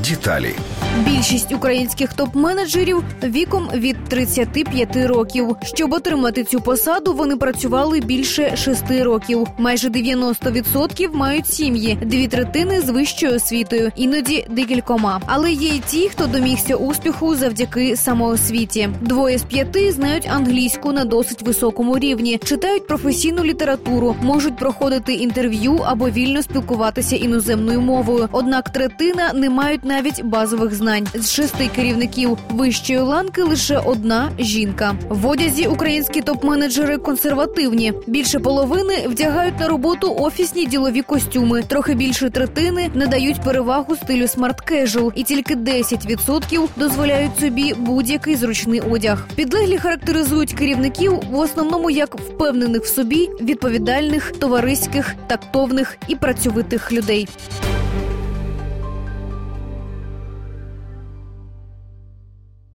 Деталі. Більшість українських топ-менеджерів віком від 35 років. Щоб отримати цю посаду, вони працювали більше 6 років. Майже 90% мають сім'ї, 2/3 з вищою освітою, іноді декількома. Але є й ті, хто домігся успіху завдяки самоосвіті. 2 з 5 знають англійську на досить високому рівні, читають професійну літературу, можуть проходити інтерв'ю або вільно спілкуватися іноземною мовою. Однак 1/3 не мають навіть базових знань. З 6 керівників вищої ланки лише 1 жінка. В одязі українські топ-менеджери консервативні. Більше половини вдягають на роботу офісні ділові костюми. Трохи більше 1/3 надають перевагу стилю смарт-кежуал. І тільки 10% дозволяють собі будь-який зручний одяг. Підлеглі характеризують керівників в основному як впевнених в собі, відповідальних, товариських, тактовних і працьовитих людей.